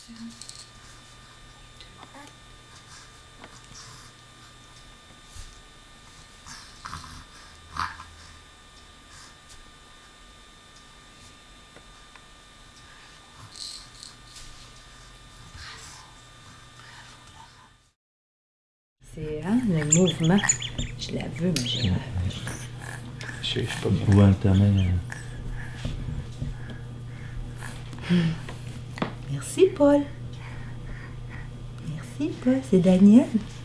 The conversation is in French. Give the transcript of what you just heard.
C'est le mouvement. Je la veux, ma girafe. Je sais pas bien. Ou alterner. Merci, Paul. Merci, Paul. C'est Daniel.